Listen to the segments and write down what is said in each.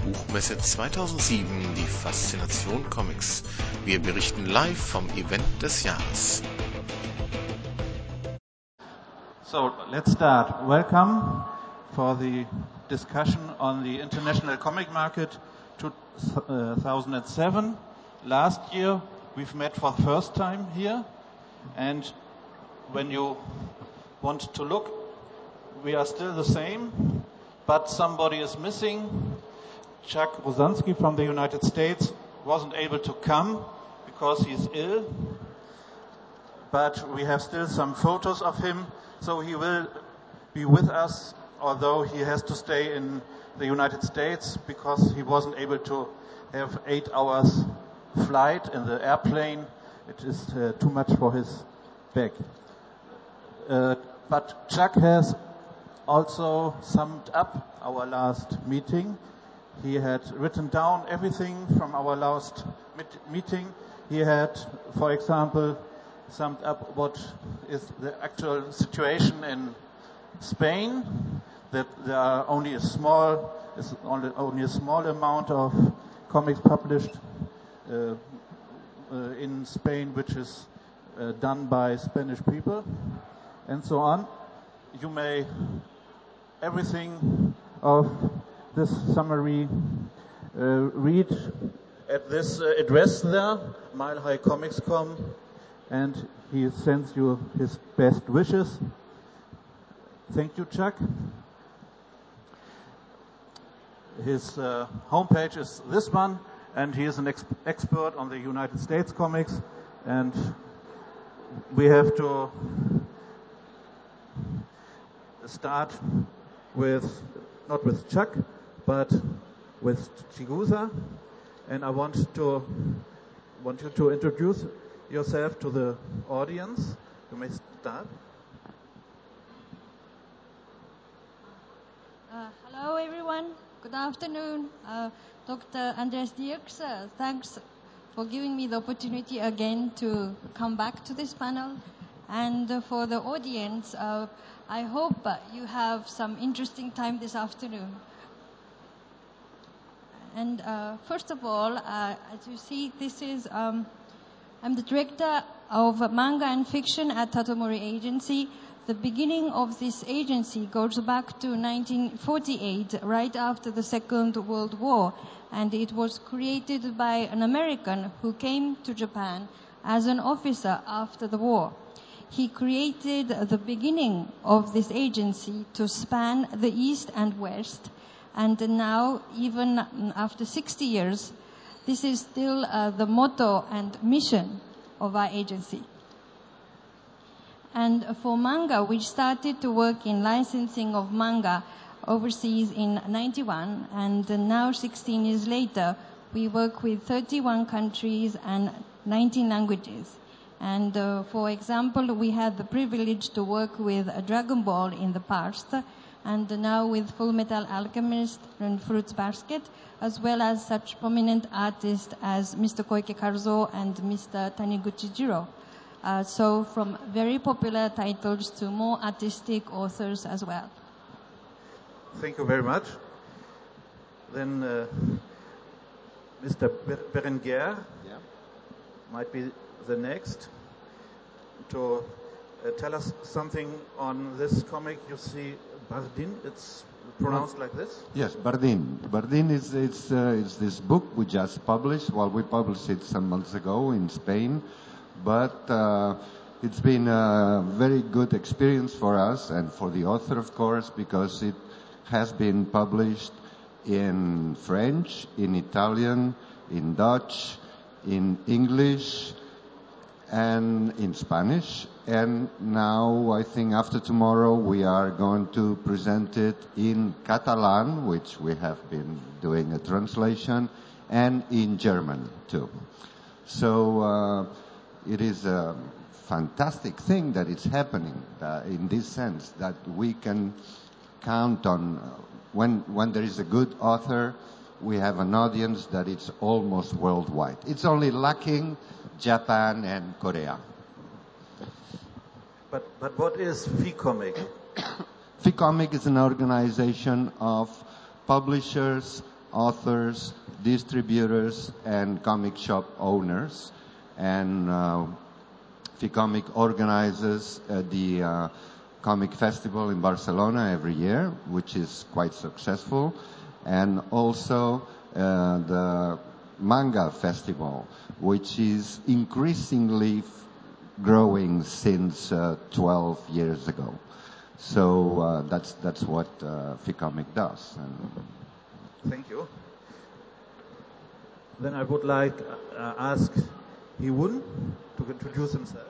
Buchmesse 2007, die Faszination Comics. Wir berichten live vom Event des Jahres. So, let's start. Welcome for the discussion on the International Comic Market 2007. Last year we've met for the first time here, and when you want to look, we are still the same, but somebody is missing. Chuck Rosansky from the United States wasn't able to come because he's ill, but we have still some photos of him, so he will be with us, although he has to stay in the United States because he wasn't able to have 8 hours flight in the airplane. It is too much for his back. But Chuck has also summed up our last meeting. He had written down everything from our last meeting. He had, for example, summed up what is the actual situation in Spain, that there are only a small amount of comics published in Spain, which is done by Spanish people, and so on. You may everything of this summary read at this address there, Mile High Comics.com, and he sends you his best wishes. Thank you, Chuck. His homepage is this one, and he is an expert on the United States comics, and we have to start with, not with Chuck, but with Chigusa, and I want you to introduce yourself to the audience. You may start. Hello everyone, good afternoon. Dr. Andreas Dirks, thanks for giving me the opportunity again to come back to this panel. And for the audience, I hope you have some interesting time this afternoon. And first of all, as you see, this is, I'm the director of manga and fiction at Tatomori Agency. The beginning of this agency goes back to 1948, right after the Second World War, and it was created by an American who came to Japan as an officer after the war. He created the beginning of this agency to span the East and West, and now, even after 60 years, this is still the motto and mission of our agency. And for manga, we started to work in licensing of manga overseas in 91, and now 16 years later, we work with 31 countries and 19 languages. And for example, we had the privilege to work with Dragon Ball in the past, and now with Full Metal Alchemist and Fruits Basket, as well as such prominent artists as Mr. Koike Karuzo and Mr. Taniguchi Jiro. So from very popular titles to more artistic authors as well. Thank you very much. Then Mr. Berenguer might be the next to tell us something on this comic. You see Bardin, it's pronounced like this? Yes, Bardin. Bardin is this book we just published. Well, we published it some months ago in Spain, but it's been a very good experience for us and for the author, of course, because it has been published in French, in Italian, in Dutch, in English, and in Spanish. And now, I think after tomorrow, we are going to present it in Catalan, which we have been doing a translation, and in German, too. So it is a fantastic thing that it's happening in this sense, that we can count on when there is a good author, we have an audience that it's almost worldwide. It's only lacking Japan and Korea. But what is FICOMIC? FICOMIC is an organization of publishers, authors, distributors, and comic shop owners. And Ficomic organizes the comic festival in Barcelona every year, which is quite successful, and also the manga festival, which is increasingly growing since 12 years ago. So that's what Ficomic does. Thank you. Then I would like ask Hyun to introduce himself.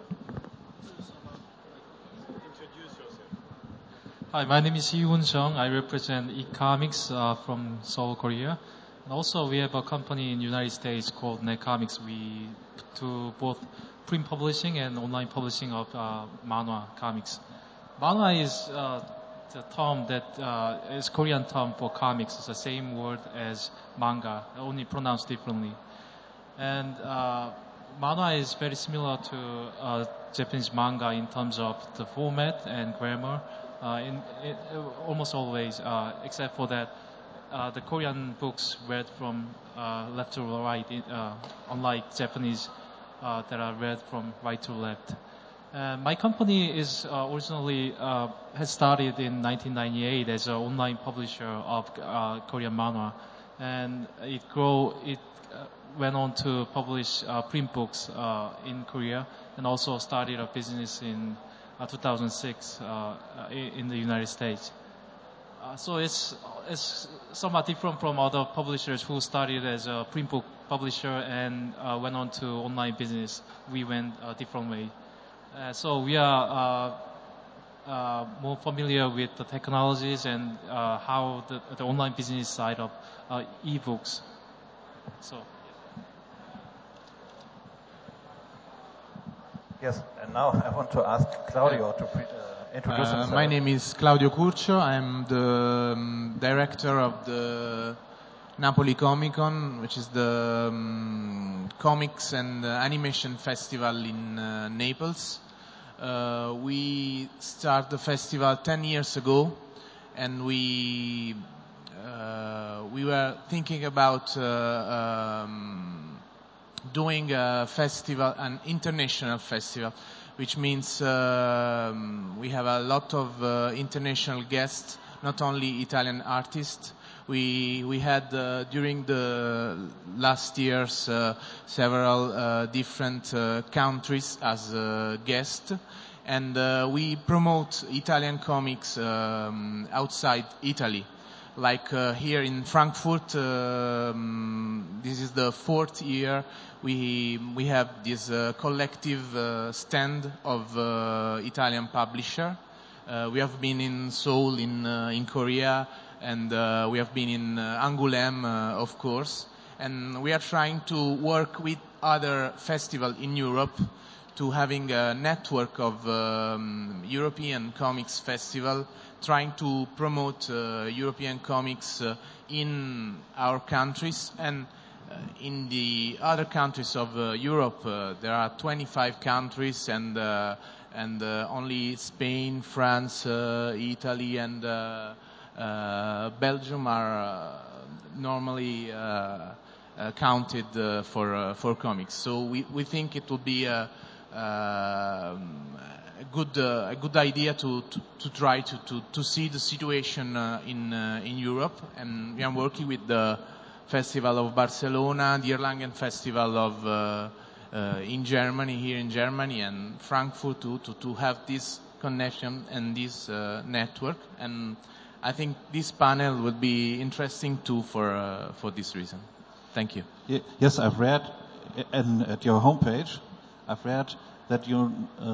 Hi, my name is Hyun Jung. I represent eComics from Seoul, Korea. And also we have a company in the United States called NetComics. We do both print publishing and online publishing of manhwa comics. Manhwa is the term that is Korean term for comics. It's the same word as manga, only pronounced differently. And manhwa is very similar to Japanese manga in terms of the format and grammar. Almost always, except for that, the Korean books read from left to right, unlike Japanese that are read from right to left. My company is originally has started in 1998 as an online publisher of Korean manhwa, and it went on to publish print books in Korea, and also started a business in 2006 in the United States. So it's somewhat different from other publishers who started as a print book publisher and went on to online business. We went a different way. So we are more familiar with the technologies and how the online business side of e-books. So. Yes, and now I want to ask Claudio to introduce himself. My name is Claudio Curcio. I'm the director of the Napoli Comic Con, which is the comics and animation festival in Naples. We started the festival 10 years ago, and we were thinking about doing a festival, an international festival, which means we have a lot of international guests, not only Italian artists. We had during the last years several different countries as guests, and we promote Italian comics outside Italy. Like here in Frankfurt, this is the 4th year we have this collective stand of Italian publisher. We have been in Seoul in Korea, and we have been in Angoulême, of course. And we are trying to work with other festivals in Europe to having a network of European comics festival, trying to promote European comics in our countries. And in the other countries of Europe, there are 25 countries, and only Spain, France, Italy, and Belgium are normally counted for comics. So we think it will be a good idea to try to see the situation in Europe, and we are working with the Festival of Barcelona, the Erlangen Festival of in Germany, here in Germany, and Frankfurt to have this connection and this network. And I think this panel would be interesting too for this reason. Thank you. Yes, I've read at your homepage. I've read that you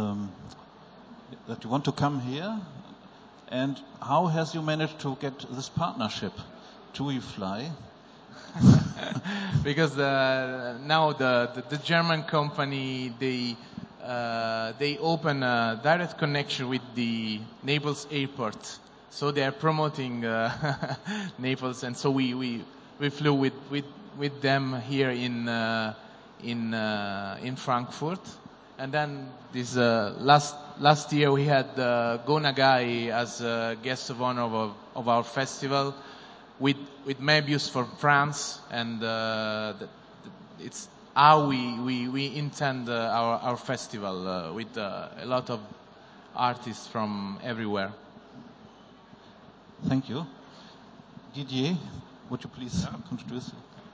want to come here, and how has you managed to get this partnership? TUI Fly? Because now the German company they open a direct connection with the Naples airport, so they are promoting Naples, and so we flew with them here in Frankfurt. And then this last year we had Go Nagai as a guest of honor of our festival. with Möbius for France, and it's how we intend our festival with a lot of artists from everywhere. Thank you. Didier, would you please introduce?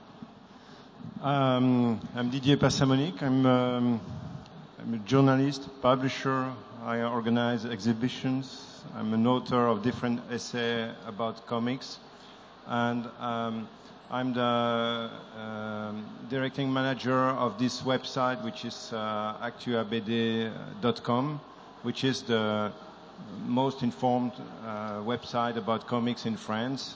I'm Didier Passamonique. I'm a journalist, publisher. I organize exhibitions. I'm an author of different essays about comics. And I'm the directing manager of this website, which is actuabd.com, which is the most informed website about comics in France.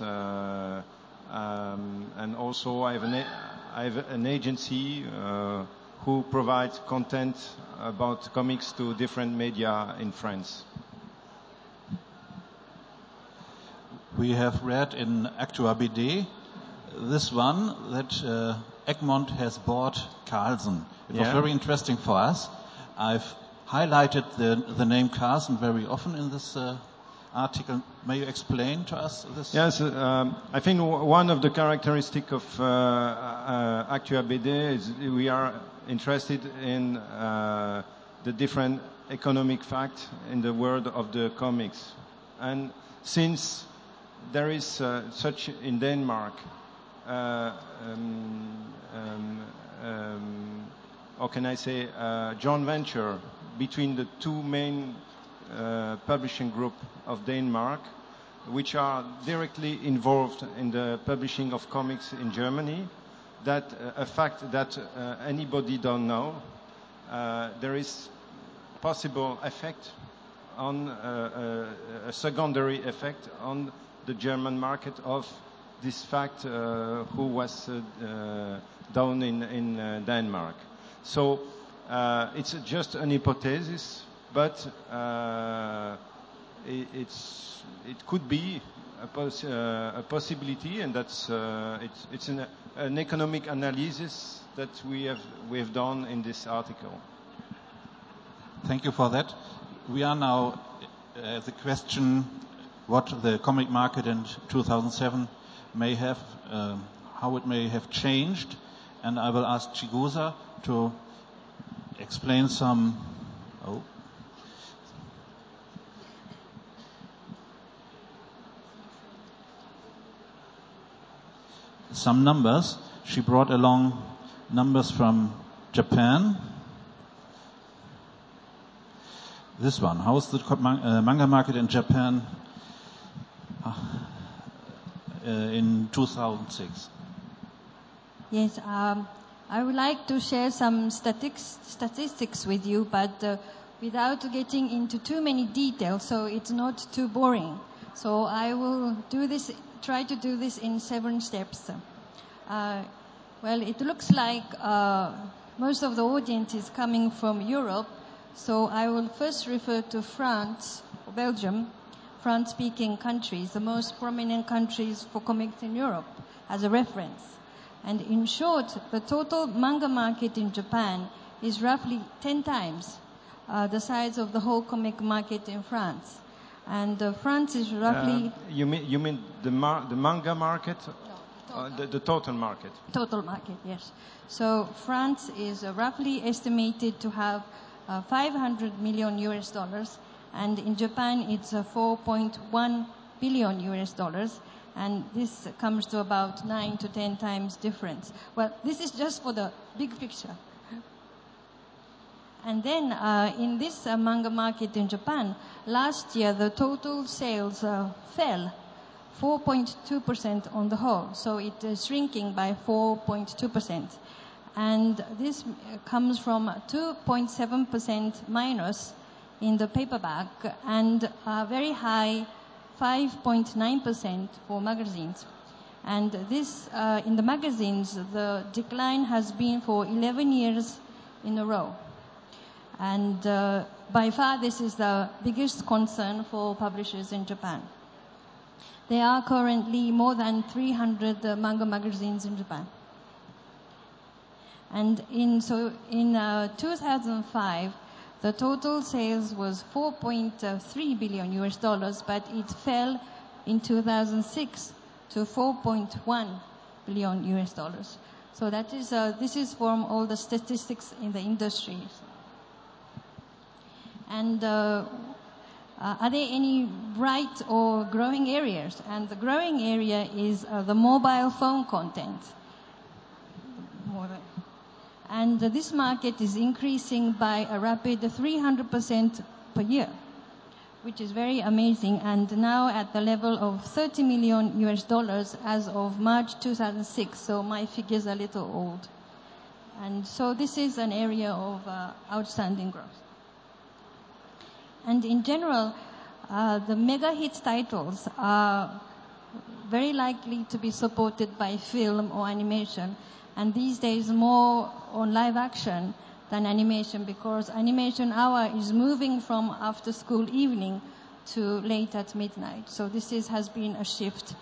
And also I have an agency who provides content about comics to different media in France. We have read in Actua BD this one that Egmont has bought Carlsen. It was very interesting for us. I've highlighted the name Carlsen very often in this article. May you explain to us this? Yes, I think one of the characteristics of Actua BD is we are interested in the different economic facts in the world of the comics. And since there is such in Denmark, how can I say, joint venture between the two main publishing group of Denmark, which are directly involved in the publishing of comics in Germany. That a fact that anybody don't know. There is possible effect on a secondary effect on the German market of this fact who was done in Denmark. So it's just an hypothesis, but it could be a possibility, and that's it's an economic analysis that we have done in this article. Thank you for that. We are now at the question what the comic market in 2007 may have, how it may have changed, and I will ask Chigusa to explain some. Some numbers. She brought along numbers from Japan. This one. How is the manga market in Japan in 2006? Yes, I would like to share some statistics with you, but without getting into too many details, so it's not too boring. So I will try to do this in 7 steps. Well, it looks like most of the audience is coming from Europe, so I will first refer to France or Belgium, France-speaking countries, the most prominent countries for comics in Europe, as a reference. And in short, the total manga market in Japan is roughly 10 times the size of the whole comic market in France. And France is roughly... You mean the manga market? No, the total market. Total market, yes. So France is roughly estimated to have $500 million, and in Japan it's $4.1 billion, and this comes to about 9 to 10 times difference. Well, this is just for the big picture. And then in this manga market in Japan, last year the total sales fell 4.2% on the whole. So it is shrinking by 4.2%. And this comes from 2.7% minus in the paperback and a very high 5.9% for magazines. And this, in the magazines, the decline has been for 11 years in a row. And by far, this is the biggest concern for publishers in Japan. There are currently more than 300 manga magazines in Japan. And in 2005, the total sales was $4.3 billion, but it fell in 2006 to 4.1 billion US dollars. So that is, this is from all the statistics in the industry. And are there any bright or growing areas? And the growing area is the mobile phone content. And this market is increasing by a rapid 300% per year, which is very amazing, and now at the level of 30 million US dollars as of March 2006. So my figures are a little old. And so this is an area of outstanding growth. And in general, the mega hit titles are very likely to be supported by film or animation, and these days more on live action than animation, because animation hour is moving from after school evening to late at midnight. So this has been a shift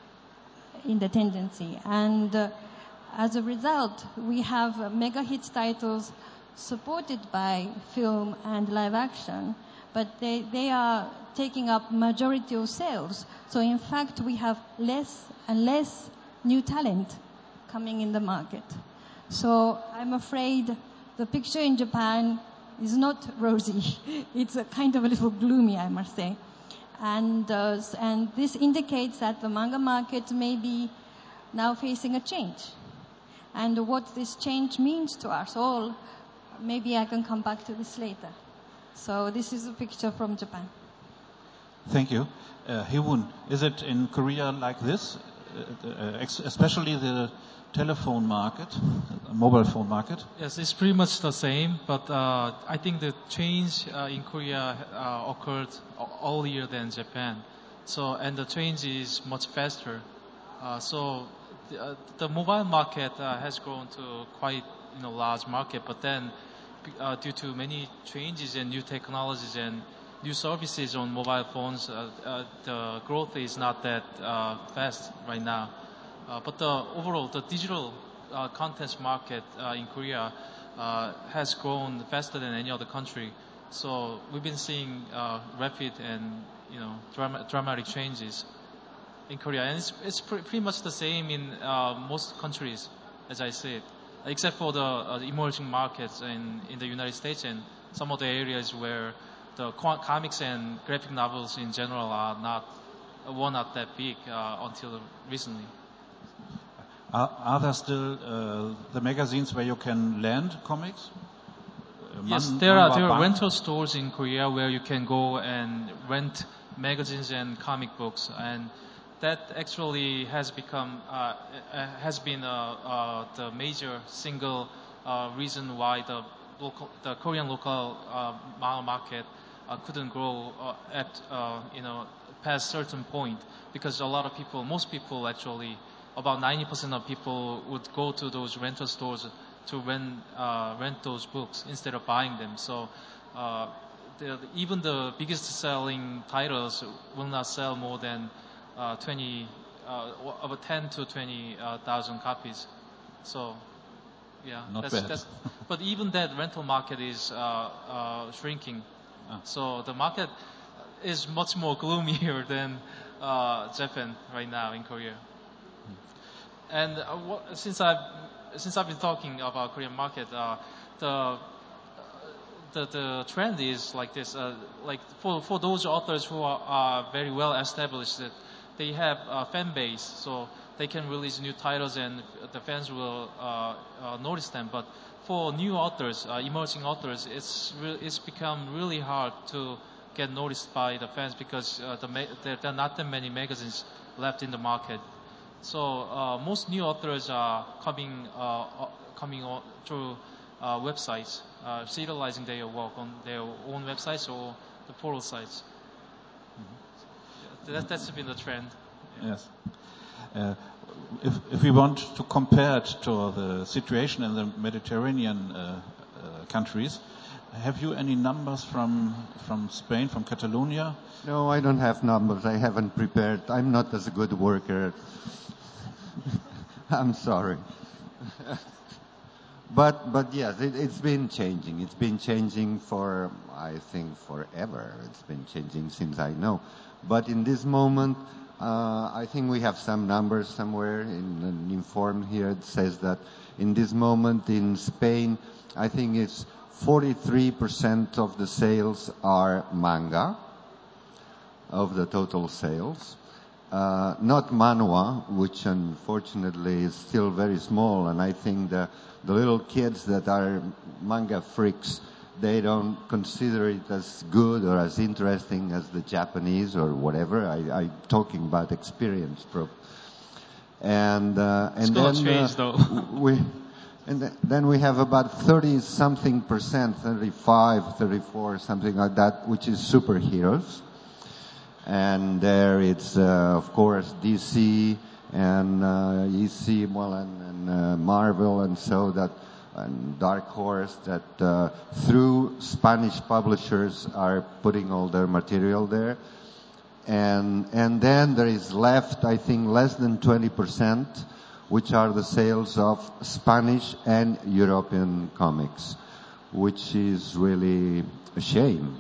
in the tendency. And as a result, we have mega hit titles supported by film and live action, but they are taking up majority of sales. So in fact, we have less and less new talent coming in the market. So I'm afraid the picture in Japan is not rosy. It's a kind of a little gloomy, I must say. And this indicates that the manga market may be now facing a change. And what this change means to us all, maybe I can come back to this later. So this is a picture from Japan. Thank you. Hee-woon, is it in Korea like this? Especially the telephone market, mobile phone market? Yes, it's pretty much the same, but I think the change in Korea occurred earlier than Japan. So, and the change is much faster. So the mobile market has grown to quite large market, but then due to many changes and new technologies and new services on mobile phones, the growth is not that fast right now. But overall, the digital contents market in Korea has grown faster than any other country. So we've been seeing rapid and dramatic changes in Korea, and it's pretty much the same in most countries, as I said, except for the emerging markets in the United States and some of the areas where the comics and graphic novels in general were not that big until recently. Are there still the magazines where you can lend comics? Yes, there are rental stores in Korea where you can go and rent magazines and comic books, and that actually has become the major single reason why the Korean local manga market couldn't grow at past certain point, because a lot of people, most people actually, about 90% of people would go to those rental stores to rent those books instead of buying them. So even the biggest selling titles will not sell more than about 10 to 20,000 copies. So yeah, not bad. But even that rental market is shrinking. So the market is much more gloomier than Japan right now in Korea. And since I've been talking about Korean market, the trend is like this. Like for those authors who are very well established, that they have a fan base, so they can release new titles and the fans will notice them. But for new authors, emerging authors, it's become really hard to get noticed by the fans, because there are not that many magazines left in the market. So most new authors are coming through websites, serializing their work on their own websites or the portal sites. Mm-hmm. That's been the trend. Yes. If we want to compare it to the situation in the Mediterranean countries, have you any numbers from Spain, from Catalonia? No, I don't have numbers. I haven't prepared. I'm not as a good worker. I'm sorry. But yes, it's been changing. It's been changing for, I think, forever. It's been changing since I know. But in this moment, I think we have some numbers somewhere in an inform here. It says that in this moment in Spain, I think it's 43% of the sales are manga, of the total sales. Not manhwa, which unfortunately is still very small, and I think the little kids that are manga freaks, they don't consider it as good or as interesting as the Japanese or whatever. I'm talking about experience, and It's gonna change, though. Then we have about 30-something%, 35, 34, something like that, which is superheroes. And there it's, of course, DC and EC, well, and Marvel, and so that, and Dark Horse, that through Spanish publishers are putting all their material there. And then there is left, I think, less than 20%, which are the sales of Spanish and European comics, which is really a shame.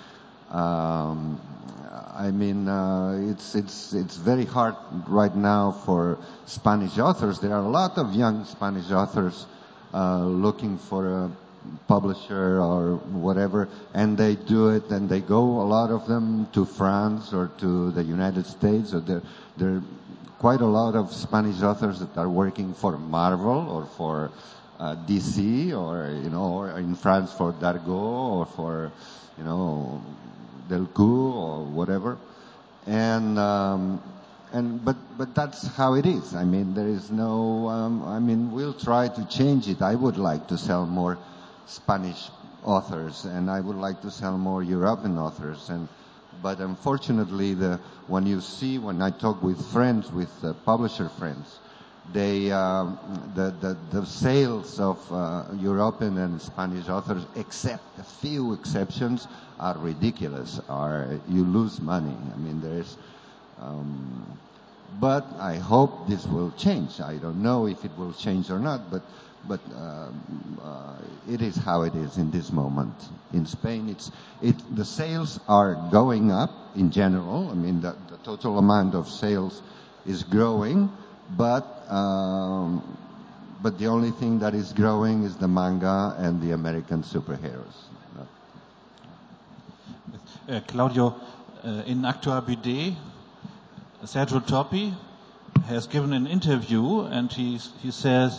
I mean, it's very hard right now for Spanish authors. There are a lot of young Spanish authors looking for a publisher or whatever, and they do it, and they go, a lot of them, to France or to the United States. Or there are quite a lot of Spanish authors that are working for Marvel or for DC, or or in France for Dargaud, or for Delcourt or whatever, but that's how it is. I mean, there is no. I mean, we'll try to change it. I would like to sell more Spanish authors, and I would like to sell more European authors, but unfortunately, when I talk with friends, with publisher friends, the sales of European and Spanish authors, except a few exceptions, are ridiculous. You lose money. I mean, but I hope this will change. I don't know if it will change or not, but it is how it is in this moment. In Spain, the sales are going up in general. I mean, the total amount of sales is growing, but the only thing that is growing is the manga and the American superheroes. Claudio, in Actua BD, Sergio Toppi has given an interview, and he says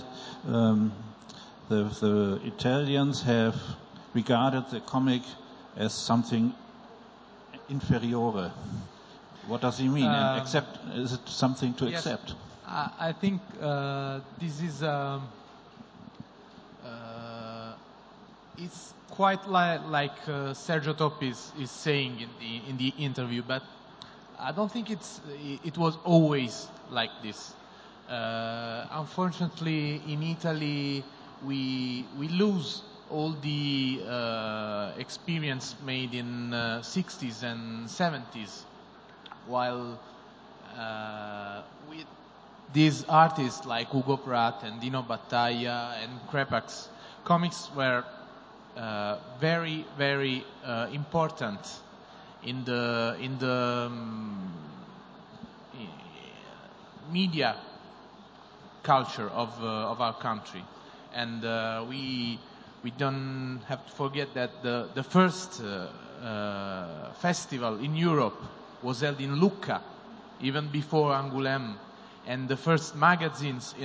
the Italians have regarded the comic as something inferiore. What does he mean? Is it something to accept? I think this is it's quite like Sergio Toppi is saying in the interview, but I don't think it was always like this. Unfortunately, in Italy, we lose all the experience made in 60s and 70s, while with these artists like Hugo Pratt and Dino Battaglia and Crepax, comics were very, very important in the media culture of our country, and we don't have to forget that the first festival in Europe was held in Lucca, even before Angoulême, and the first magazines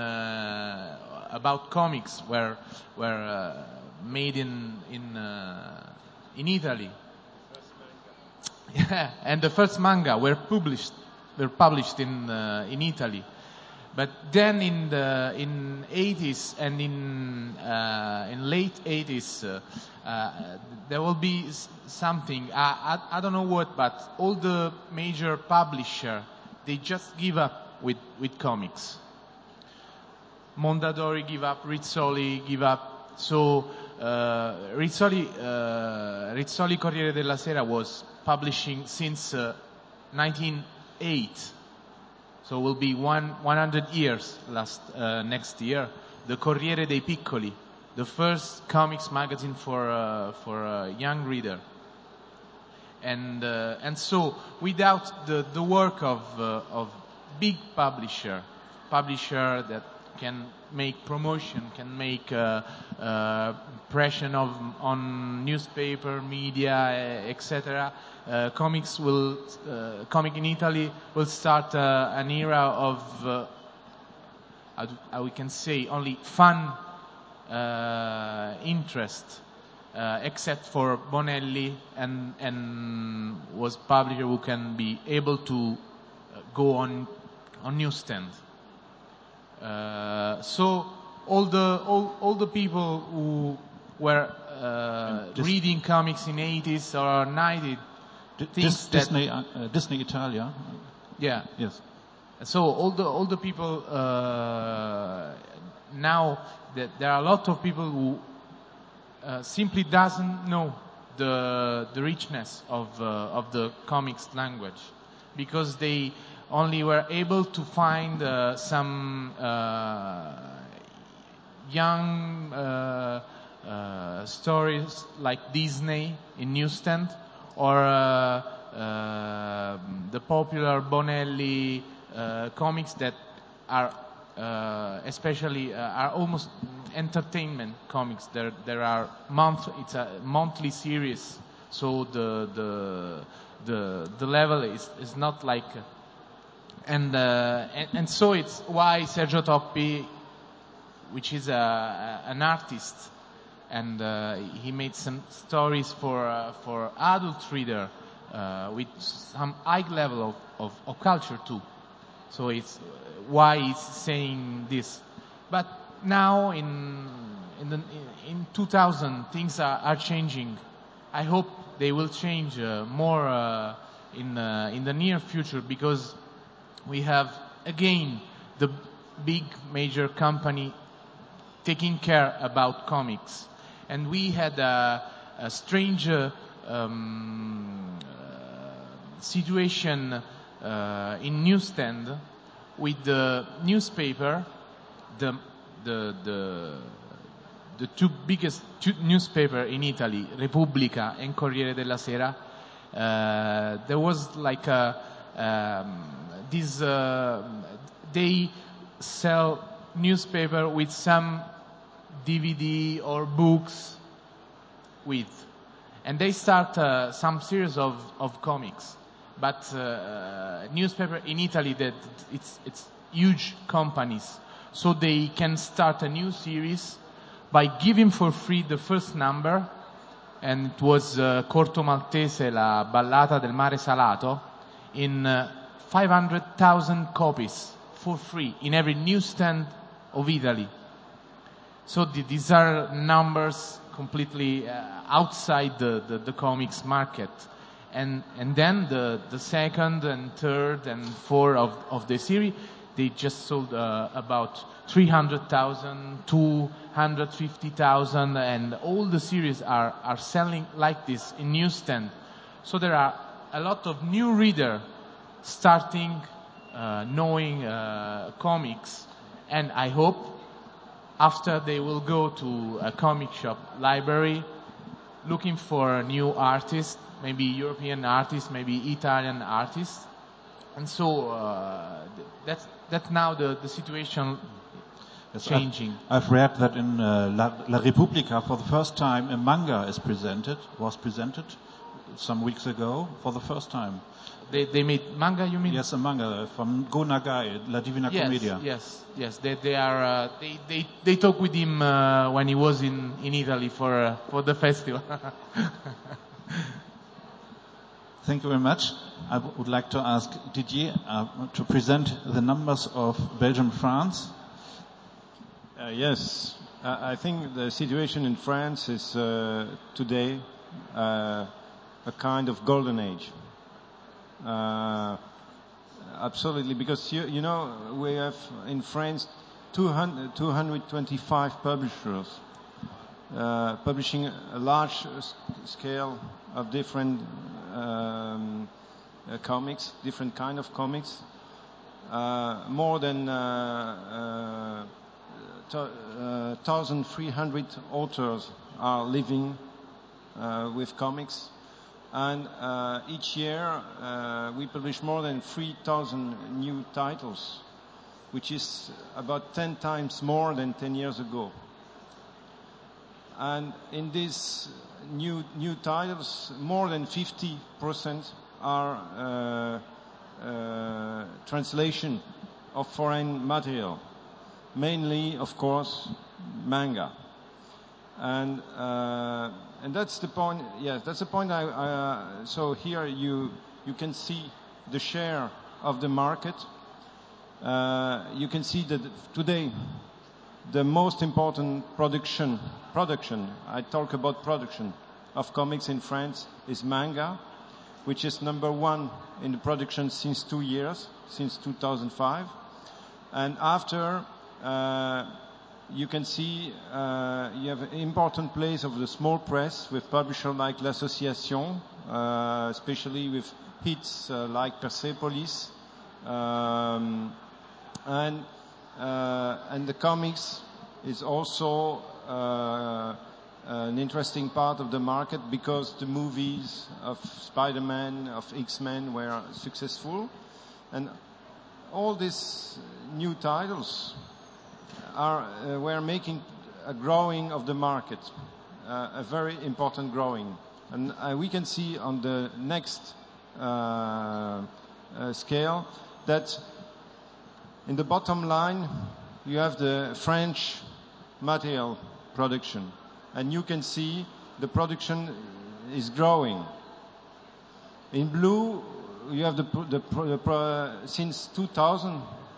about comics were made in Italy. Yeah, and the first manga were published in Italy. But then in 80s and in late 80s, there will be something. I don't know what, but all the major publishers, they just give up with comics. Mondadori give up, Rizzoli give up. So Rizzoli Corriere della Sera was publishing since 1908. So it will be 100 years next year. The Corriere dei Piccoli, the first comics magazine for a young reader. And so without the work of big publisher that can make promotion, can make impression on newspaper, media, etc. Comic in Italy will start an era of we can say only fun interest, except for Bonelli and was publisher who can be able to go on newsstand. So all the people who were reading comics in 80s or 90s Disney Italia. Yeah. Yes. So all the people now that there are a lot of people who simply doesn't know the richness of the comics language, because they only were able to find some young stories like Disney in newsstand, or the popular Bonelli comics that are especially are almost entertainment comics. There are it's a monthly series, so the level is not like, and so it's why Sergio Toppi, which is an artist, and he made some stories for adult reader with some high level of culture too. So it's why he's saying this. But now in 2000 things are changing. I hope they will change more in the near future, because we have again the big major company taking care about comics, and we had a strange situation in newsstand with the newspaper, the two biggest newspaper in Italy, Repubblica and Corriere della Sera. There was like they sell newspaper with some DVD or books with, and they start some series of comics. But newspaper in Italy, that it's huge companies, so they can start a new series by giving for free the first number, and it was Corto Maltese, La Ballata del Mare Salato, in 500,000 copies for free in every newsstand of Italy. So these are numbers completely outside the comics market. And then the second and third and fourth of the series, they just sold about 300,000, 250,000, and all the series are selling like this in newsstand. So there are a lot of new reader starting knowing comics, and I hope after they will go to a comic shop library looking for a new artist, maybe European artists, maybe Italian artists, and so that's now the situation changing. I've read that in La Repubblica for the first time a manga was presented some weeks ago for the first time. They made manga, you mean? Yes, a manga from Go Nagai, La Divina Commedia. Yes. They are. They talked with him when he was in Italy for the festival. Thank you very much. I would like to ask Didier to present the numbers of Belgium-France. Yes, I think the situation in France is today a kind of golden age. Absolutely, because you know we have in France 225 publishers publishing a large scale of different comics, different kind of comics. More than 1,300 authors are living with comics. And each year we publish more than 3,000 new titles, which is about 10 times more than 10 years ago. And in these new titles, more than 50% are translation of foreign material, mainly, of course, manga. And that's the point. Yes, that's the point. So here you can see the share of the market. You can see that today the most important production, I talk about production of comics in France, is manga, which is number one in the production since 2 years, since 2005. And after, you can see you have an important place of the small press with publishers like L'Association, especially with hits like Persepolis, and the comics is also an interesting part of the market because the movies of Spider-Man, of X-Men were successful, and all these new titles were making a growing of the market, a very important growing. And we can see on the next scale that in the bottom line you have the French material production, and you can see the production is growing. In blue you have since 2000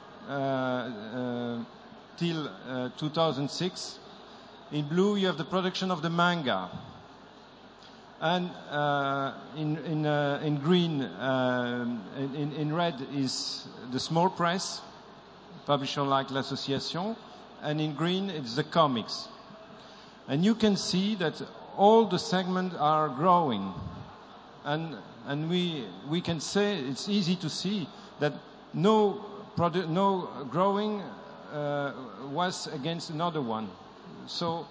till 2006. In blue you have the production of the manga, and in green, in red is the small press, publisher like L'Association, and in green it's the comics. And you can see that all the segments are growing, and we can say it's easy to see that no growing was against another one. So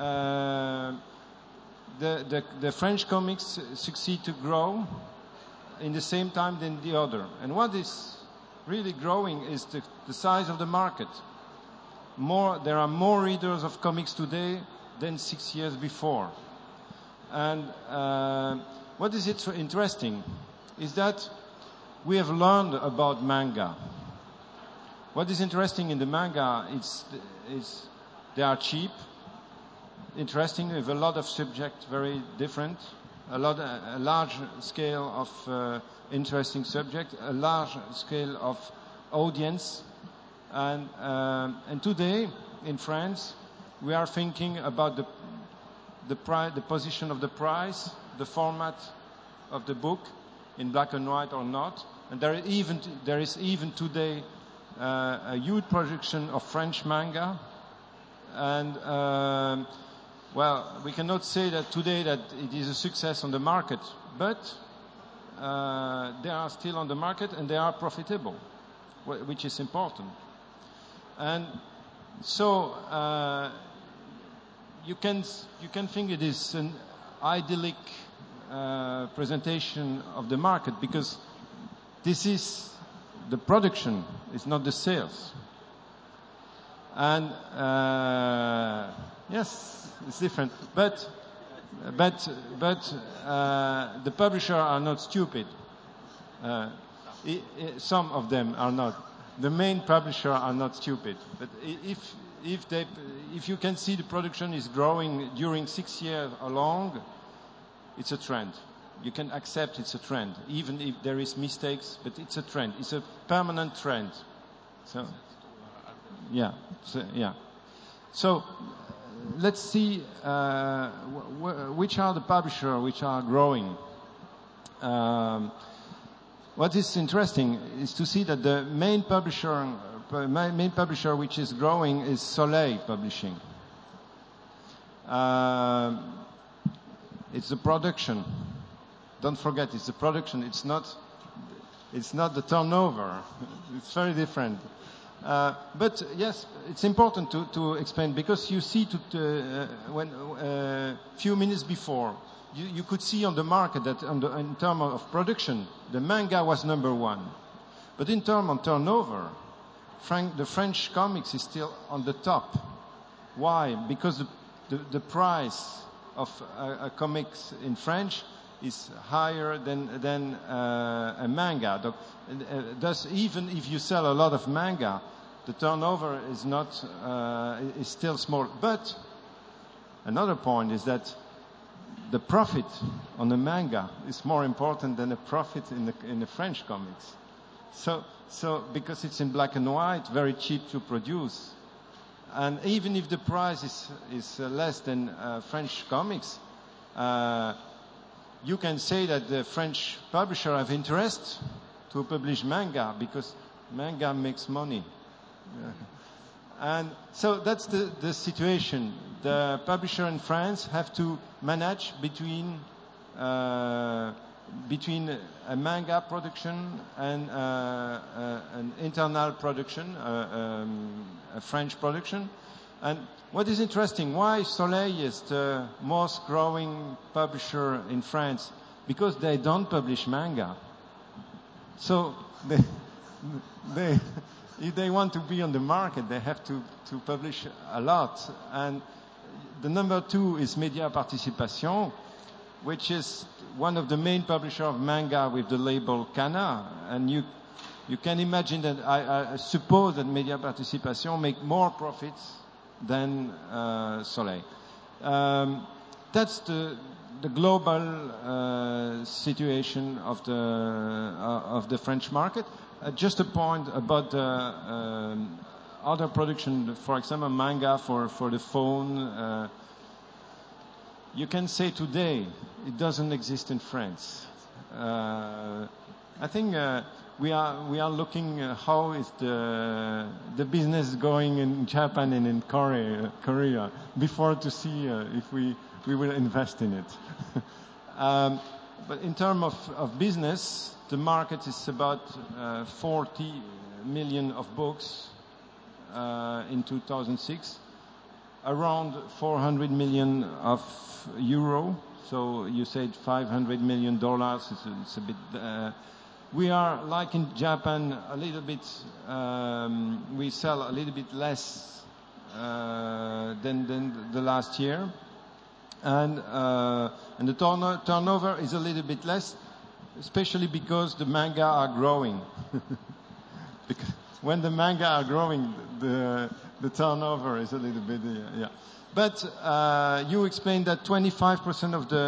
the French comics succeed to grow in the same time than the other. And what is really growing is the size of the market. There are more readers of comics today than 6 years before. And what is interesting is that we have learned about manga. What is interesting in the manga is they are cheap, interesting, with a lot of subjects very different, a large scale of interesting subject, a large scale of audience, and today in France we are thinking about the position of the price, the format of the book, in black and white or not, and there is even today a huge production of French manga, and well, we cannot say that today that it is a success on the market, but they are still on the market and they are profitable, which is important. And so you can think it is an idyllic presentation of the market, because this is the production, it's not the sales. And yes, it's different, but the publishers are not stupid. Some of them are not. The main publishers are not stupid. But if you can see the production is growing during 6 years or long, it's a trend. You can accept it's a trend, even if there is mistakes, but it's a trend. It's a permanent trend. So, yeah. So let's see which are the publishers which are growing. What is interesting is to see that the main publisher which is growing is Soleil Publishing. It's the production. Don't forget, it's the production. It's not the turnover. It's very different. But yes, it's important to explain, because you see when few minutes before you could see on the market that in terms of production, the manga was number one. But in terms of turnover, the French comics is still on the top. Why? Because the price of a comics in French is higher than a manga. Thus, even if you sell a lot of manga, the turnover is not is still small. But another point is that the profit on the manga is more important than the profit in the French comics. So because it's in black and white, very cheap to produce, and even if the price is less than French comics, you can say that the French publisher have interest to publish manga because manga makes money. And so that's the situation. The publisher in France have to manage between a manga production and an internal production, a French production. And what is interesting, why Soleil is the most growing publisher in France? Because they don't publish manga. So if they want to be on the market, they have to publish a lot. And the number two is Média Participation, which is one of the main publishers of manga with the label Kana. And you can imagine that I suppose that Média Participation make more profits than Soleil. That's the global situation of the French market. Just a point about the other production, for example, manga for the phone. You can say today it doesn't exist in France. I think we are looking how is the business going in Japan and in Korea before to see if we will invest in it. But in terms of business, the market is about 40 million of books in 2006, around 400 million of euro. So you said $500 million. It's a bit. We are like in Japan a little bit. We sell a little bit less than the last year, and the turnover is a little bit less. Especially because the manga are growing. Because when the manga are growing, the turnover is a little bit, yeah. But you explained that 25% of the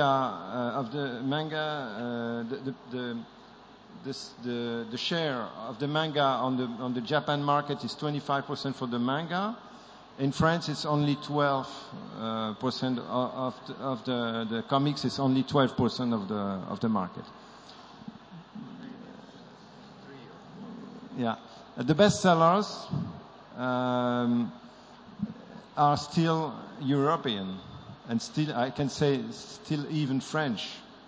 the share of the manga on the Japan market is 25% for the manga. In France, it's only 12% of the comics. It's only 12% of the market. Yeah, the bestsellers are still European, and still I can say still even French.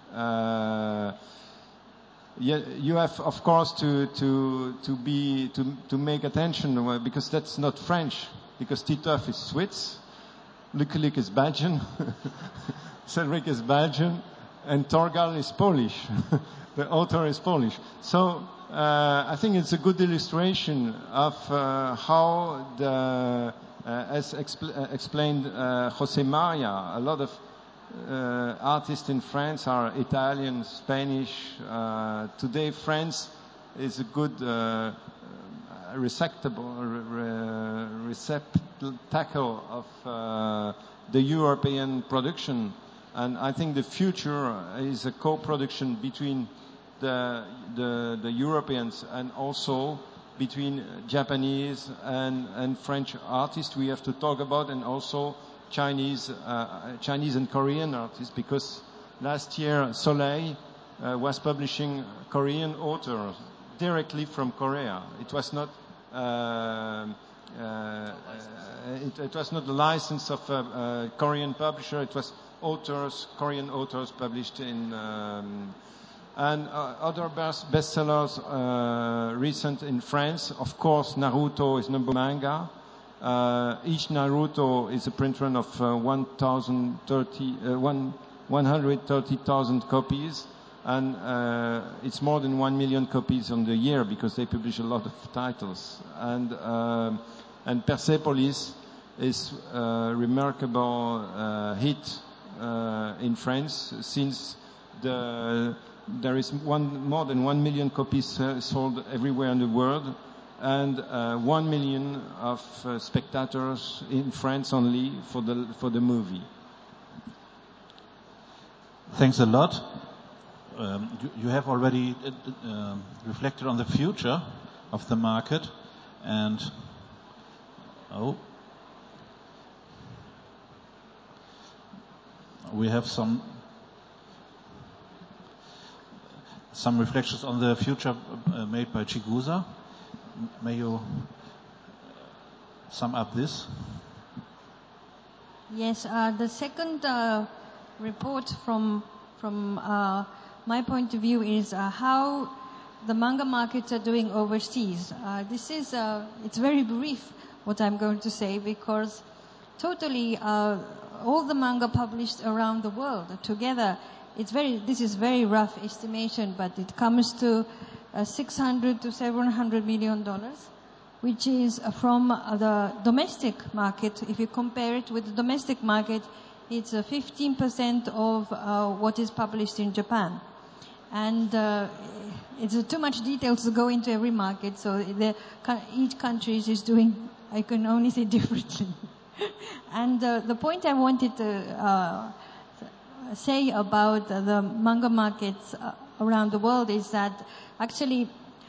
You have, of course, to make attention because that's not French. Because Titeuf is Swiss, Lucky Luke is Belgian, Cedric is Belgian, and Torgal is Polish. The author is Polish. So I think it's a good illustration of how as explained Jose Maria, a lot of artists in France are Italian, Spanish. Today France is a good receptacle of the European production, and I think the future is a co-production between the Europeans and also between Japanese and French artists we have to talk about, and also Chinese and Korean artists, because last year Soleil was publishing Korean authors directly from Korea. It was not it was not the license of a Korean publisher. It was Korean authors published in and other bestsellers recent in France. Of course, Naruto is number one manga. Each Naruto is a print run of 1,030 130,000 copies, and it's more than 1 million copies on the year because they publish a lot of titles. And Persepolis is a remarkable hit in France, since there is more than 1 million copies sold everywhere in the world, and 1 million of spectators in France only for the movie. Thanks a lot. You have already reflected on the future of the market, and we have some reflections on the future made by Chigusa. May you sum up this? Yes, the second report from my point of view is how the manga markets are doing overseas. It's very brief what I'm going to say, because totally all the manga published around the world together, this is very rough estimation, but it comes to $600 to $700 million, which is from the domestic market. If you compare it with the domestic market, it's 15% of what is published in Japan. And it's too much details to go into every market, so each country is doing, I can only say, differently. And the point I wanted to say about the manga markets around the world is that actually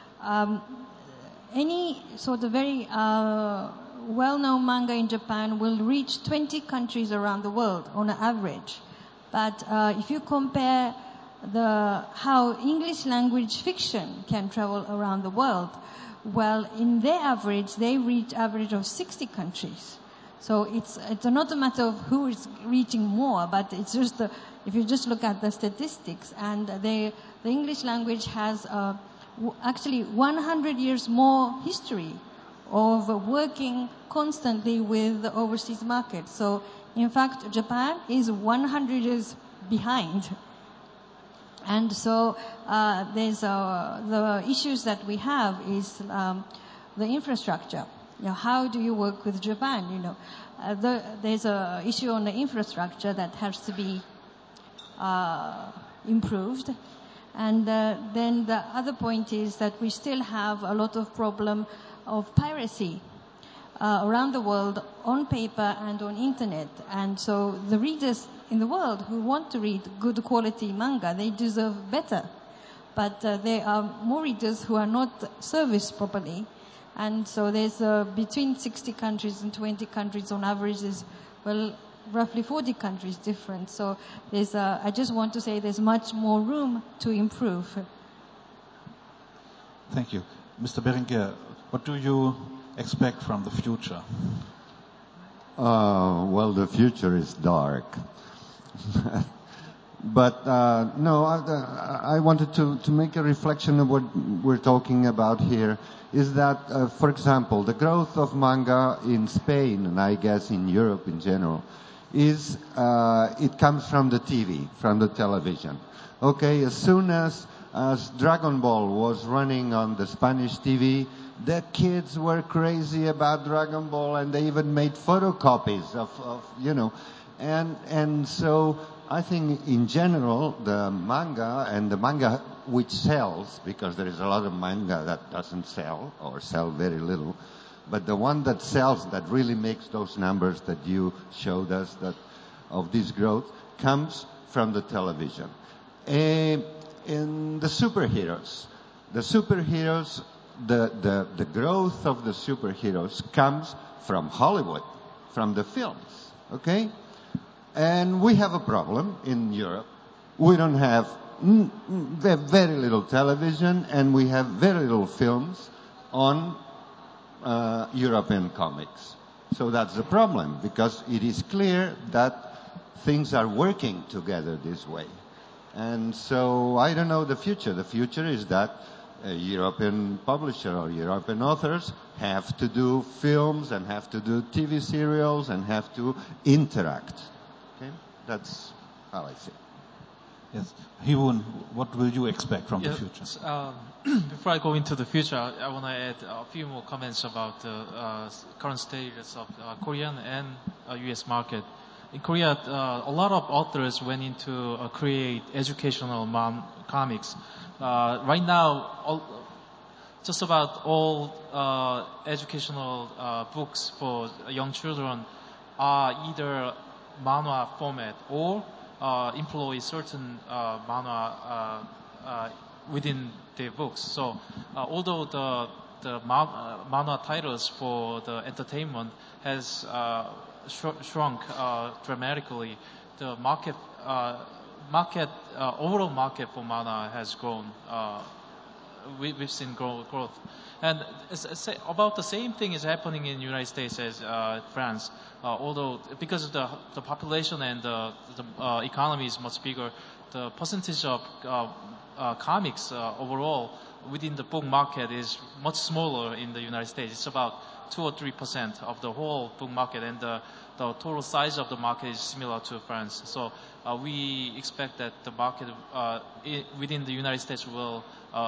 any sort of very well-known manga in Japan will reach 20 countries around the world on average. But if you compare how English language fiction can travel around the world, well, in their average, they reach average of 60 countries. So it's not a matter of who is reaching more, but it's just if you just look at the statistics, and the English language has actually 100 years more history of working constantly with the overseas market. So in fact, Japan is 100 years behind. And so there's the issues that we have is the infrastructure. How do you work with Japan? There's a issue on the infrastructure that has to be improved. And then the other point is that we still have a lot of problem of piracy around the world on paper and on internet. And so the readers in the world who want to read good quality manga, they deserve better. But there are more readers who are not serviced properly. And so there's between 60 countries and 20 countries on average is, well, roughly 40 countries different. So I just want to say there's much more room to improve. Thank you. Mr. Berenguer, what do you expect from the future? Well, the future is dark. But no, I wanted to make a reflection of what we're talking about here, is that, for example, the growth of manga in Spain, and I guess in Europe in general, is it comes from the TV, from the television. Okay, as soon as Dragon Ball was running on the Spanish TV, the kids were crazy about Dragon Ball, and they even made photocopies of and so I think in general the manga which sells, because there is a lot of manga that doesn't sell or sell very little, but the one that sells, that really makes those numbers that you showed us that of this growth, comes from the television. In the superheroes, the growth of the superheroes comes from Hollywood, from the films, okay? And we have a problem in Europe. We don't have very little television, and we have very little films on European comics. So that's the problem, because it is clear that things are working together this way. And so I don't know the future. The future is that a European publisher or European authors have to do films and have to do TV serials and have to interact. Okay? That's how I see it. Yes. Hyun, what will you expect from the future? Before I go into the future, I want to add a few more comments about the current status of Korean and U.S. market. In Korea, a lot of authors went into create educational comics. Right now, just about all educational books for young children are either manhwa format or employ certain manhwa within their books. So although the manhwa titles for the entertainment has shrunk dramatically, the overall market for manhwa has grown. We've seen growth. And about the same thing is happening in the United States as France. Although because of the population and the economy is much bigger, the percentage of comics overall within the book market is much smaller in the United States. It's about 2 or 3% of the whole book market, and the total size of the market is similar to France. So we expect that the market within the United States will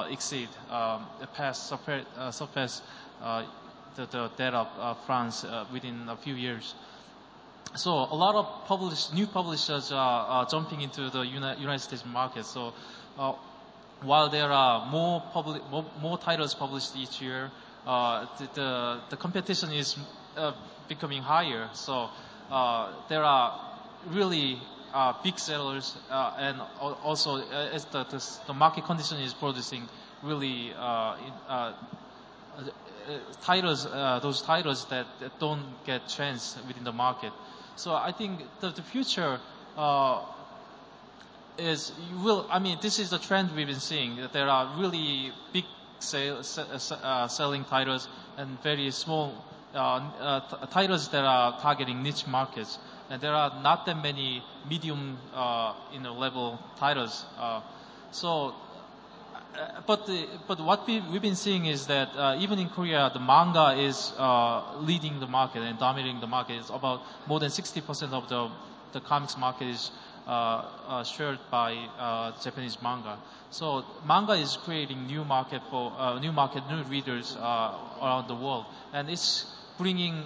surpass the data of France within a few years. So a lot of new publishers are jumping into the United States market. So while there are more titles published each year, the competition is becoming higher. So there are really big sellers, and also as the market condition is producing really those titles that don't get chance within the market. So I think the future this is the trend we've been seeing, that there are really big selling titles and very small titles that are targeting niche markets, and there are not that many medium level titles. But what we've been seeing is that even in Korea, the manga is leading the market and dominating the market. It's about more than 60% of the comics market is shared by Japanese manga. So manga is creating new readers around the world, and it's bringing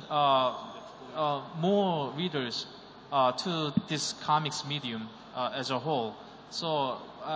more readers to this comics medium as a whole. So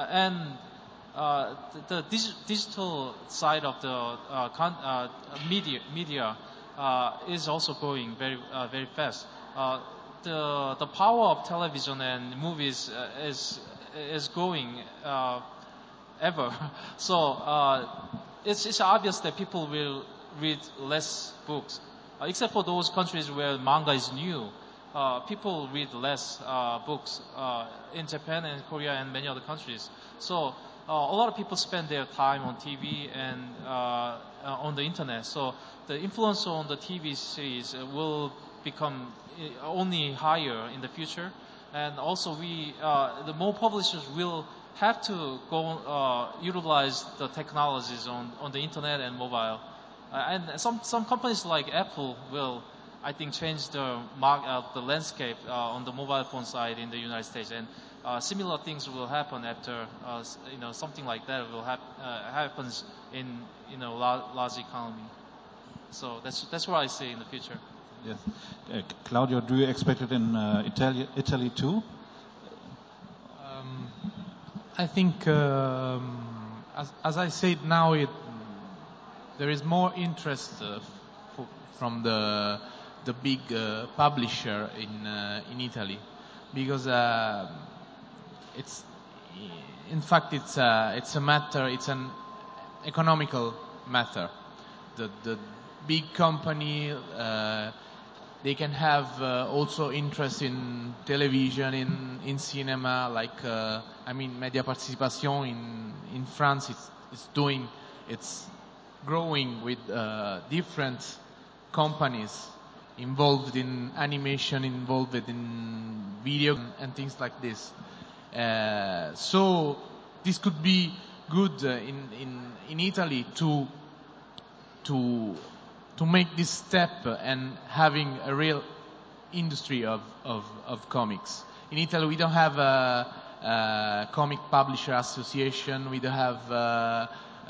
the digital side of the media is also growing very fast. The power of television and movies is growing ever. So it's obvious that people will read less books, except for those countries where manga is new. People read less books in Japan and Korea and many other countries. So a lot of people spend their time on TV and on the internet. So the influence on the TV series will become only higher in the future. And also the more publishers will have to go utilize the technologies on the internet and mobile. And some companies like Apple will, I think, change the landscape on the mobile phone side in the United States. And similar things will happen after something like that will happens in large economy. So that's what I see in the future. Yes. Claudio, do you expect it in Italy too? I think, as I said, now there is more interest from the big publisher in Italy, because it's an economical matter. The big company, they can have also interest in television, in cinema, like Media Participation in France. It's growing with different companies involved in animation, involved in video and things like this. So this could be good in Italy to make this step and having a real industry of comics. In Italy, we don't have comic publisher association. We don't have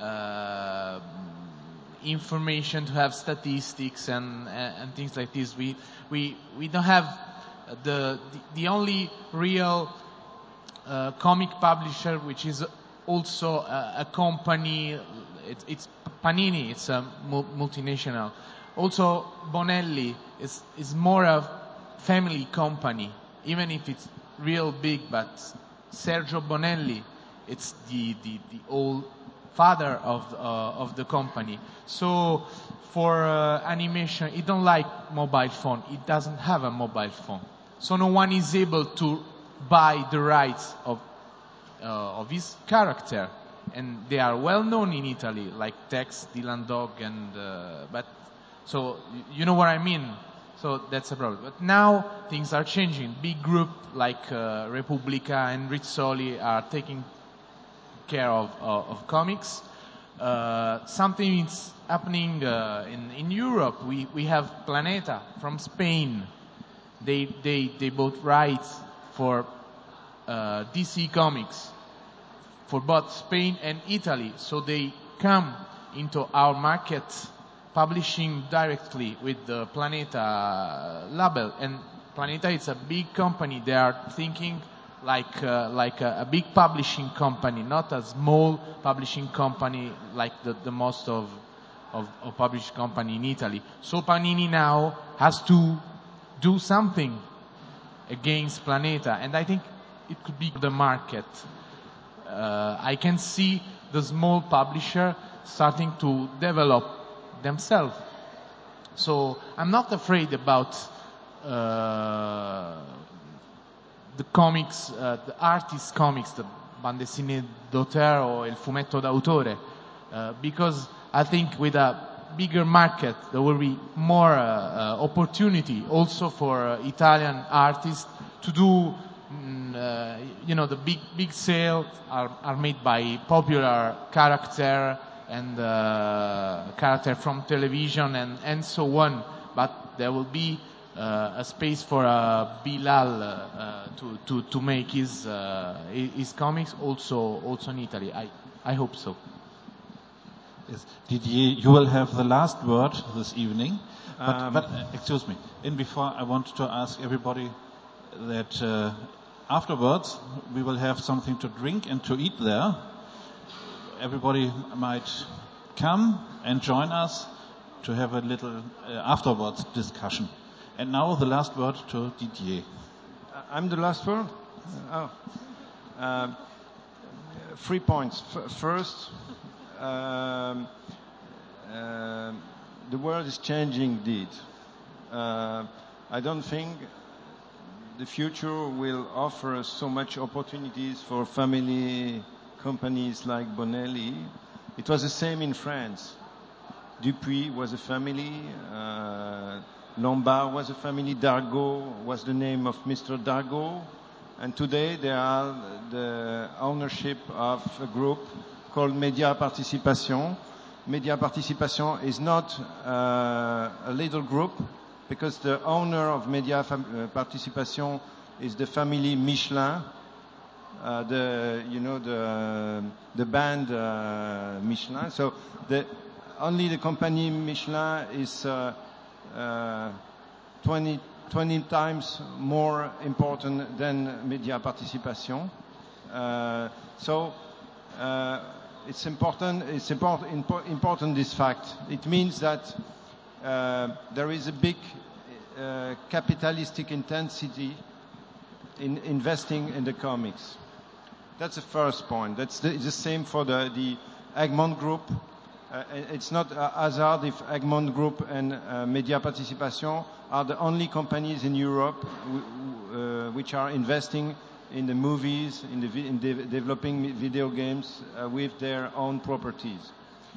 information to have statistics and things like this. We don't have the only real comic publisher which is also a company. It's Panini. It's a multinational. Also Bonelli is more a family company, even if it's real big. But Sergio Bonelli, it's the old father of the company. So for animation, it don't like mobile phone. It doesn't have a mobile phone. So no one is able to buy the rights of his character, and they are well known in Italy, like Tex, Dylan Dog, and but so you know what I mean. So that's a problem. But now things are changing. Big group like Repubblica and Rizzoli are taking care of comics. Something is happening in Europe. We have Planeta from Spain. They bought rights for DC Comics for both Spain and Italy. So they come into our market publishing directly with the Planeta label. And Planeta is a big company. They are thinking like a big publishing company, not a small publishing company like the most of publishing company in Italy. So Panini now has to do something against Planeta, and I think it could be the market. I can see the small publisher starting to develop themselves. So I'm not afraid about the comics, the artist comics, the bande dessinée d'auteur or il fumetto d'autore, because I think with a bigger market there will be more opportunity also for Italian artists to do. The big sales are made by popular character and character from television and so on. But there will be a space for Bilal to make his comics also in Italy. I hope so. Yes. Didier, you will have the last word this evening. But excuse me. Before, I want to ask everybody that afterwards we will have something to drink and to eat there. Everybody might come and join us to have a little afterwards discussion. And now the last word to Didier. I'm the last word? 3 points. First, the world is changing indeed. I don't think the future will offer so much opportunities for family companies like Bonelli. It was the same in France. Dupuis was a family. Lombard was a family. Dargaud was the name of Mr. Dargaud. And today they are the ownership of a group called Media Participation. Media Participation is not a little group, because the owner of Media Participation is the family Michelin, the band Michelin. So only the company Michelin is 20 times more important than Media Participation. It's important this fact. It means that there is a big capitalistic intensity in investing in the comics. That's the first point. It's the same for the Egmont Group. It's not a hazard if Egmont Group and Media Participation are the only companies in Europe which are investing in the movies, in developing video games with their own properties.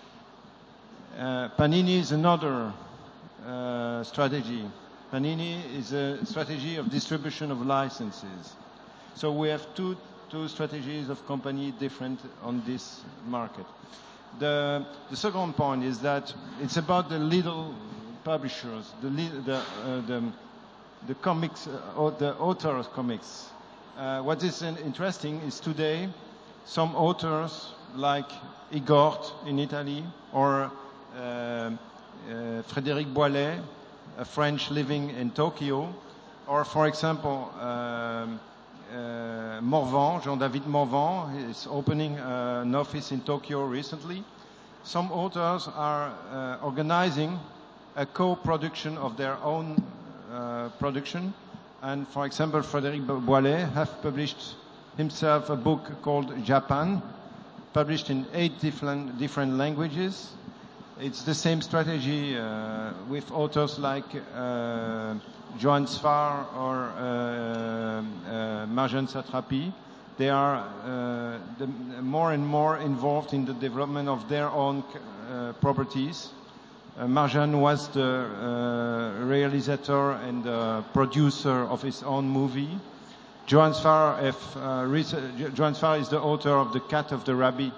Panini is another strategy. Panini is a strategy of distribution of licenses. So we have two strategies of company different on this market. The second point is that it's about the little publishers, the comics, or the authors' comics. what is interesting is today some authors like Igor in Italy or Frédéric Boilet, a French living in Tokyo, or for example Morvan, Jean-David Morvan is opening an office in Tokyo recently. Some authors are organizing a co-production of their own production. And for example, Frédéric Boilet has published himself a book called Japan, published in 8 different languages. It's the same strategy with authors like Johan Sfar or Marjane Satrapi. They are more and more involved in the development of their own properties. Marjane was the realizator and producer of his own movie. Johan Sfar is the author of The Cat of the Rabbi,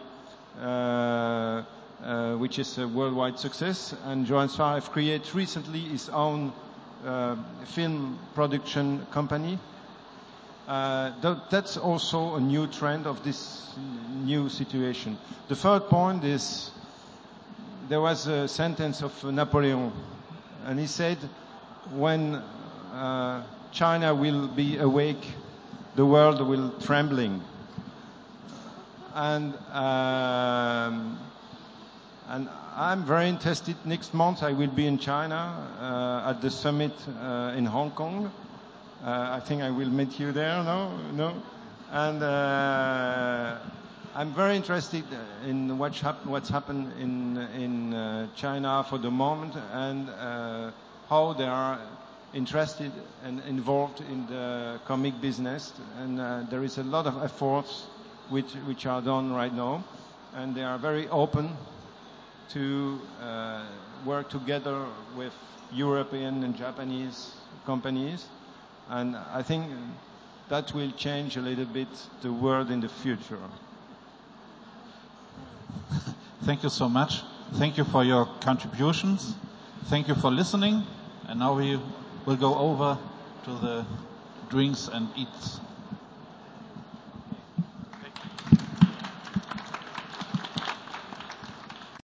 which is a worldwide success. And Johan Sfar has created recently his own film production company. That's also a new trend of this new situation. The third point is there was a sentence of Napoleon, and he said, when China will be awake, the world will trembling. And I'm very interested. Next month I will be in China at the summit in Hong Kong. I think I will meet you there. No. And I'm very interested in what's happened in China for the moment, and how they are interested and involved in the comic business. And there is a lot of efforts which are done right now, and they are very open to work together with European and Japanese companies. And I think that will change a little bit the world in the future. Thank you so much. Thank you for your contributions. Thank you for listening. And now we will go over to the drinks and eats.